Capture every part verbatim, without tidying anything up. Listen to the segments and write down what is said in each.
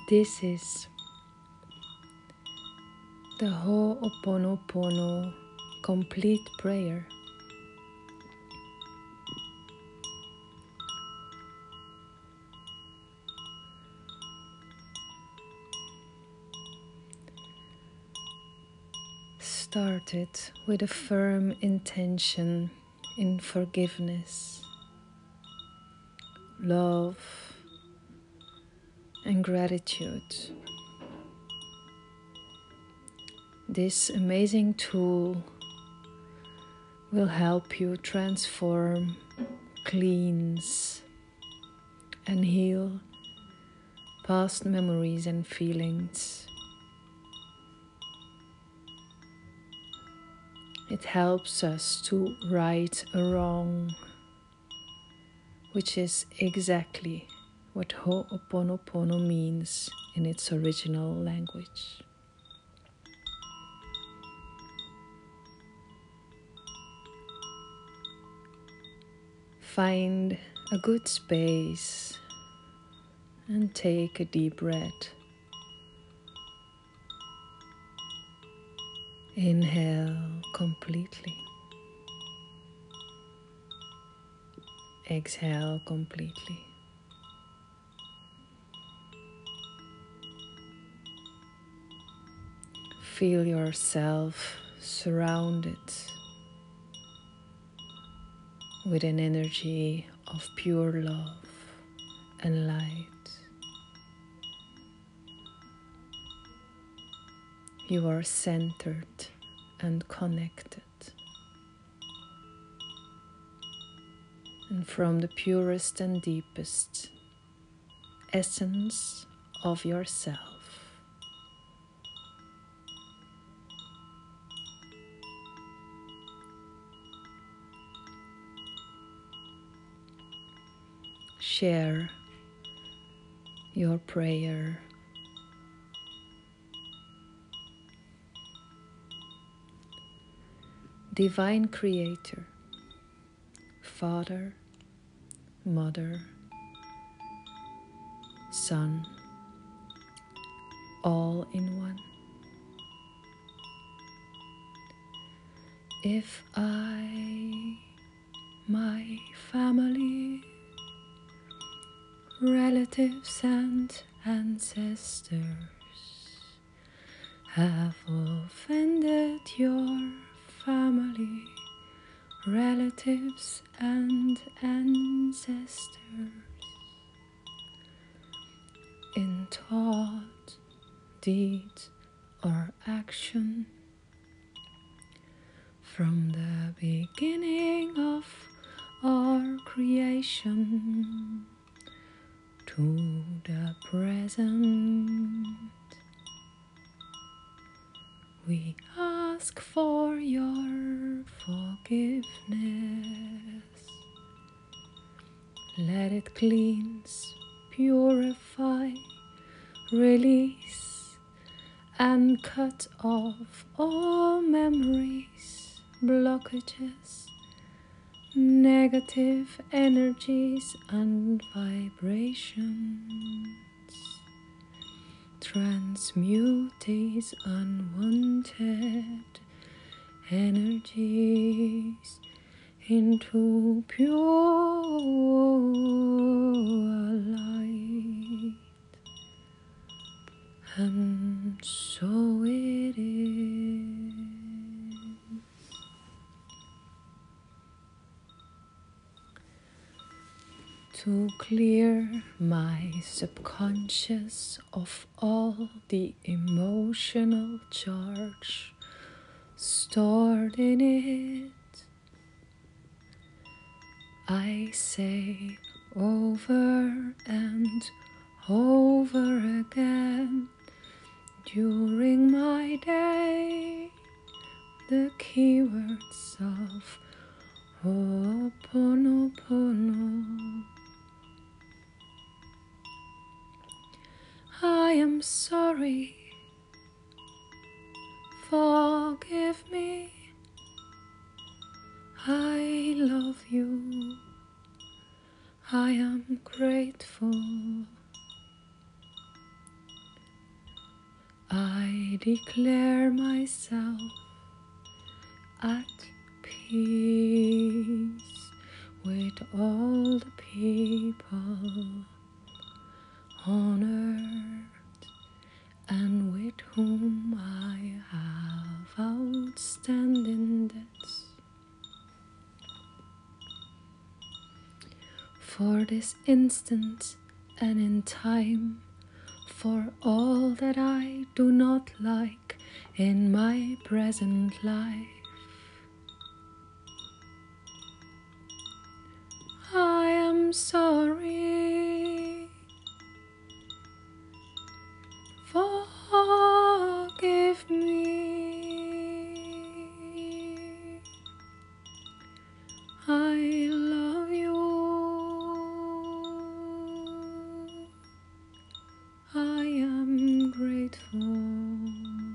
This is the Ho'oponopono complete prayer. Started with a firm intention in forgiveness, love, and gratitude. This amazing tool will help you transform, cleanse, and heal past memories and feelings. It helps us to right a wrong, which is exactly what Ho'oponopono means in its original language. Find a good space and take a deep breath. Inhale completely. Exhale completely. Feel yourself surrounded with an energy of pure love and light. You are centered and connected. And from the purest and deepest essence of yourself, share your prayer. Divine Creator, Father, Mother, Son, all in one. If I, my family, relatives and ancestors have offended your family, relatives and ancestors in thought, deed, or action, from the beginning of our creation to the present, we ask for your forgiveness. Let it cleanse, purify, release, and cut off all memories, blockages, negative energies and vibrations. Transmute these unwanted energies into pure light. And so it is. To clear my subconscious of all the emotional charge stored in it, I say over and over again during my day the keywords of Ho'oponopono. I am sorry, forgive me, I love you, I am grateful, I declare myself at peace with all the people on earth and with whom I have outstanding debts. For this instant and in time, for all that I do not like in my present life, I am sorry. Forgive me. I love you. I am grateful.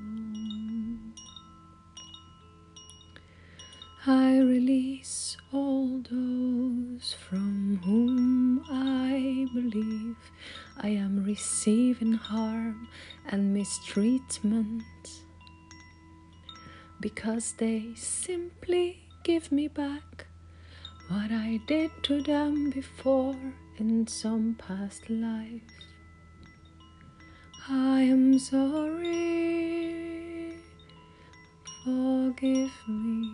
I release all those from whom I believe I am receiving harm and mistreatment, because they simply give me back what I did to them before in some past life. I am sorry. Forgive me.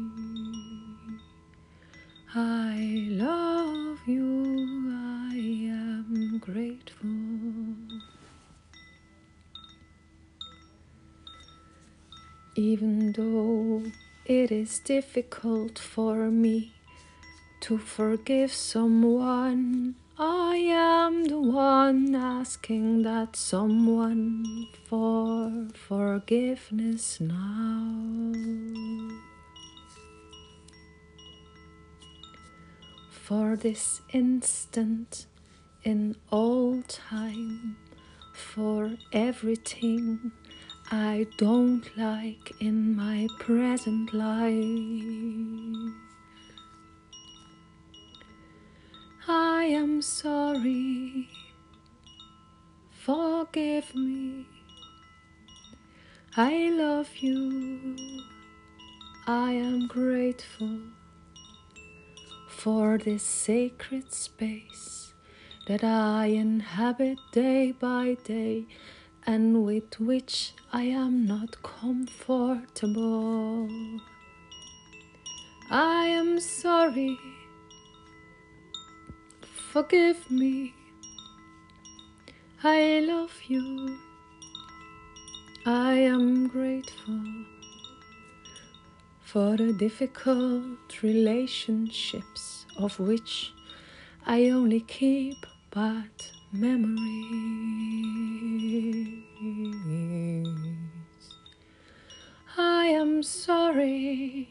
I love you. I am grateful. Even though it is difficult for me to forgive someone, I am the one asking that someone for forgiveness now. For this instant in all time, for everything I don't like in my present life. I am sorry. Forgive me. I love you. I am grateful for this sacred space that I inhabit day by day, and with which I am not comfortable. I am sorry. Forgive me. I love you. I am grateful for the difficult relationships of which I only keep bad memories. I am sorry.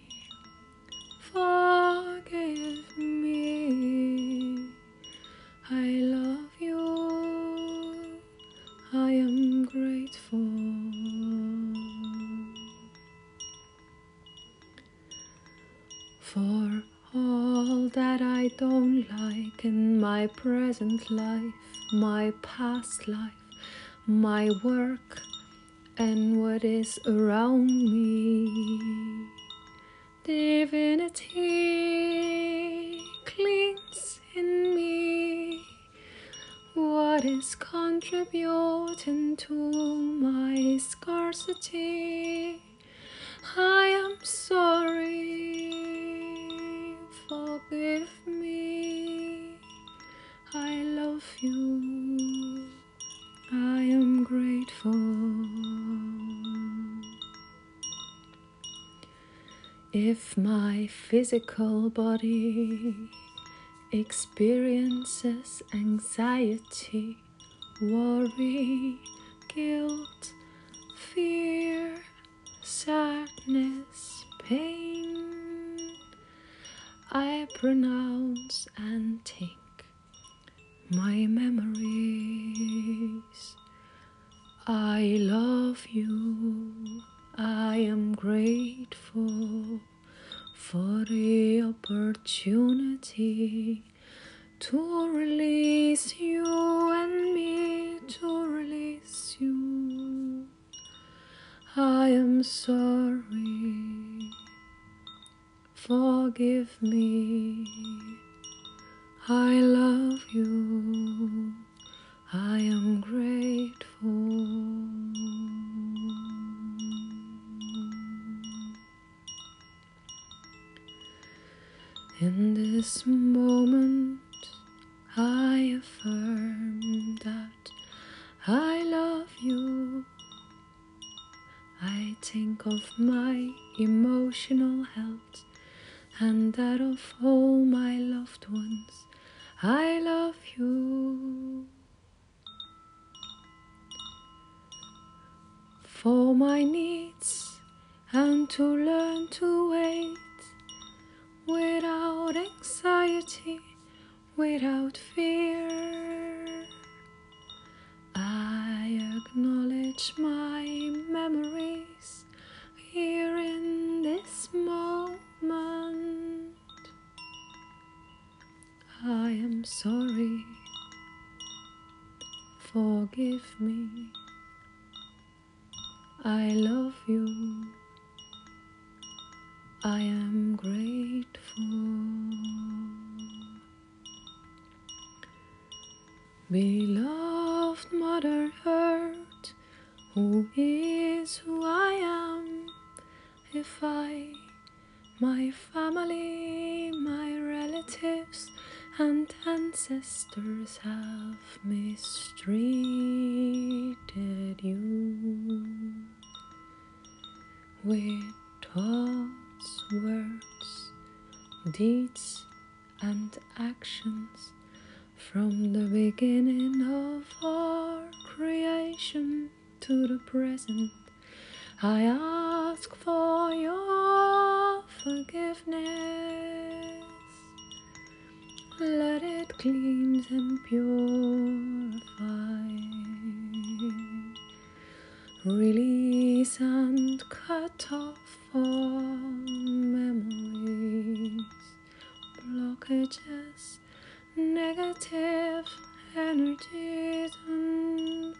Forgive me. I love you. I am grateful for all that I don't like in my present life, my past life, my work, and what is around me. Divinity cleans in me what is contributing to my scarcity. I am sorry. Forgive me. I love you. I am grateful. If my physical body experiences anxiety, worry, guilt, fear, sadness, pain, I pronounce and think my memories. I love you. I am grateful for the opportunity to release you and me to release you. am sorry. Forgive me. I love you. I am grateful. In this moment, I affirm that I love you. I think of my emotional health and that of all my loved ones. I love you. For my needs and to learn to wait without anxiety, without fear. I acknowledge my memories here in this moment. I am sorry. Forgive me. I love you. I am grateful. Beloved Mother Earth, who is who I am, if I, my family, my relatives and ancestors have mistreated you with thoughts, words, deeds and actions from the beginning of our creation to the present. I ask for your forgiveness. Let it cleanse and purify. Release and cut off all memories, blockages, negative energies and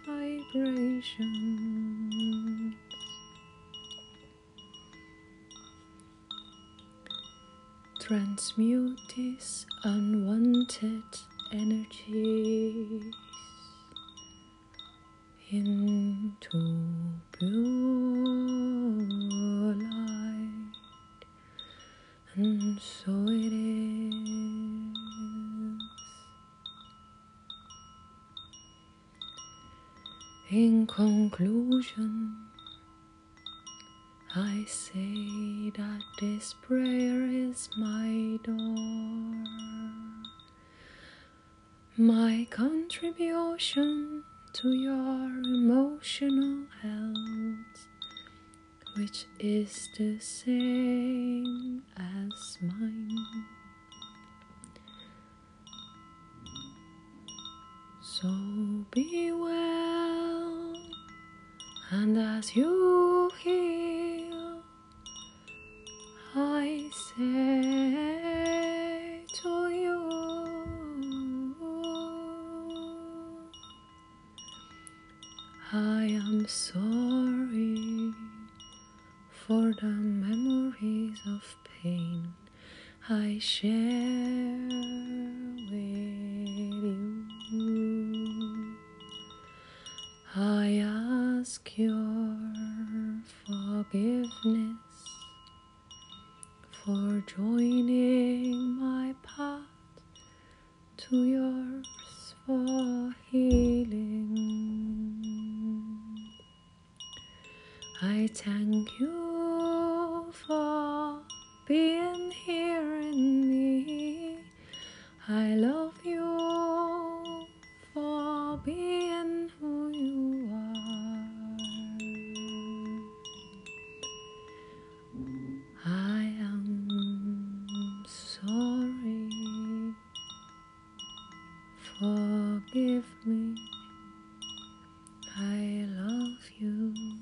vibrations. Transmute these unwanted energies into pure light, and so it is. In conclusion, I say that this prayer is my door, my contribution to your emotional health, which is the same as mine. So be well, and as you heal, I say to you, I am sorry for the memories of pain I share with you. I ask your forgiveness for joining my path to yours for healing. I thank you for being here in me. I love you for being who you are. I am sorry. Forgive me. I love you.